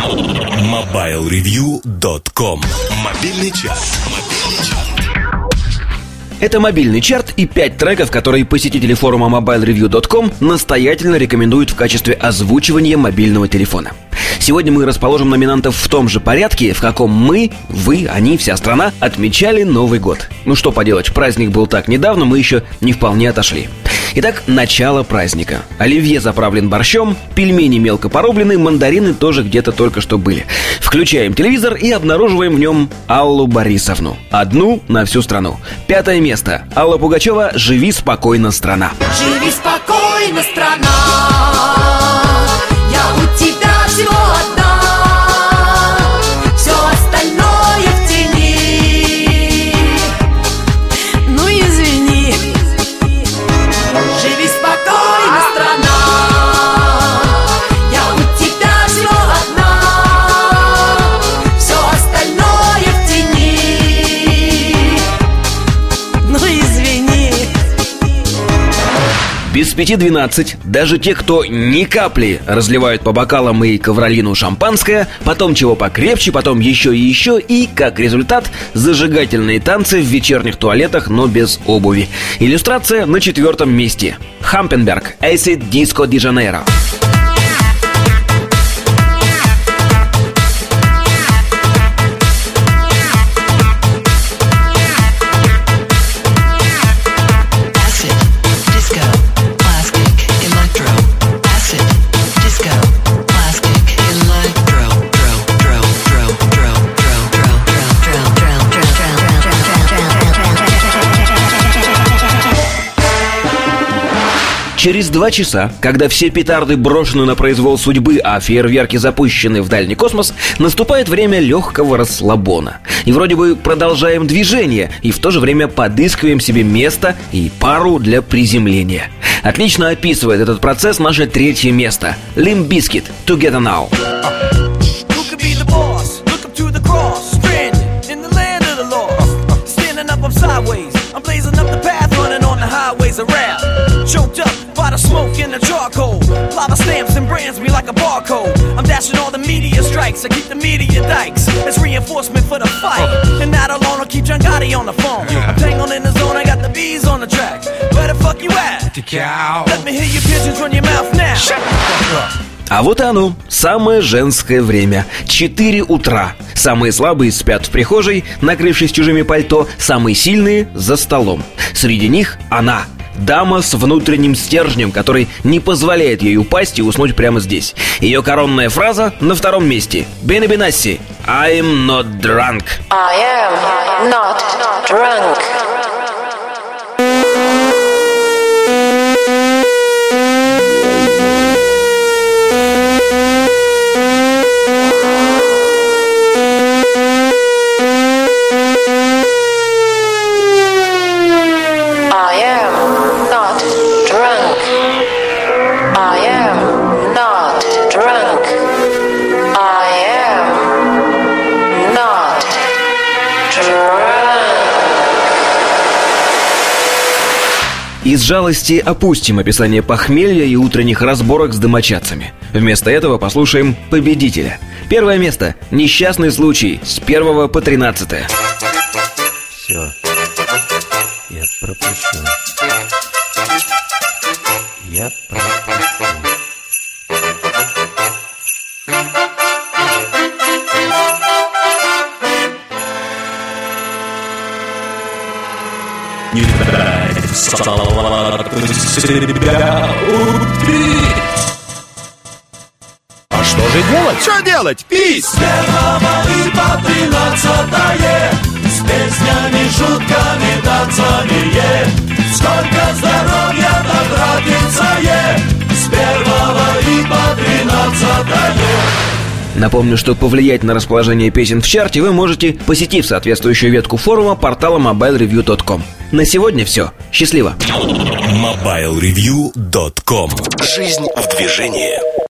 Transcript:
MobileReview.com. Мобильный час. Это мобильный чарт и 5 треков, которые посетители форума MobileReview.com настоятельно рекомендуют в качестве озвучивания мобильного телефона. Сегодня мы расположим номинантов в том же порядке, в каком мы, вы, они, вся страна отмечали Новый год. Ну что поделать, праздник был так недавно, мы еще не вполне отошли. Итак, начало праздника. Оливье заправлен борщом, пельмени мелко порублены, мандарины тоже где-то только что были. Включаем телевизор и обнаруживаем в нем Аллу Борисовну. Одну на всю страну. 5 место. Алла Пугачева «Живи спокойно, страна». Живи спокойно, страна. Я у тебя всего одна. Все остальное в тени. Ну извини. Живи спокойно, страна. Я у тебя всего одна. Все остальное в тени. Ну извини. Без 5:12 даже те, кто ни капли разливают по бокалам и ковролину шампанское, потом чего покрепче, потом еще и еще, и, как результат, зажигательные танцы в вечерних туалетах, но без обуви. Иллюстрация на 4 месте. Хампенберг, Acid Disco de Janeiro. Через 2 часа, когда все петарды брошены на произвол судьбы, а фейерверки запущены в дальний космос, наступает время легкого расслабона. И вроде бы продолжаем движение, и в то же время подыскиваем себе место и пару для приземления. Отлично описывает этот процесс наше 3 место. Limp Bizkit, Together Now. The smoke and the charcoal, lava stamps and brands me like a barcode. I'm dashing all the media strikes, I keep the media dikes. It's reinforcement for the fight, and that alone will keep John Gotti on the phone. I'm tangled in the zone, I got the bees on the track. Where the fuck you at? The cow. Let me hear your pigeons run your mouth now. Shut the fuck up. А вот и оно, самое женское время. 4 утра. Самые слабые спят в прихожей, накрывшись чужими пальто, самые сильные за столом. Среди них она. Дама с внутренним стержнем, который не позволяет ей упасть и уснуть прямо здесь. Ее коронная фраза на 2 месте. Бенни Бенасси. I'm not drunk. I am not drunk. Из жалости опустим описание похмелья и утренних разборок с домочадцами. Вместо этого послушаем победителя. 1 место. Несчастный случай с 1 по 13. Все. Я пропущу. Я пропущу. Не дай салату себя убить. А что же делать? Что делать? Пить! С 1 и по 13 с песнями, шутками, танцами. Сколько здоровья потратится, с 1 и по 13. Напомню, что повлиять на расположение песен в чарте вы можете, посетив соответствующую ветку форума портала MobileReview.com. На сегодня все. Счастливо! MobileReview.com. Жизнь в движении.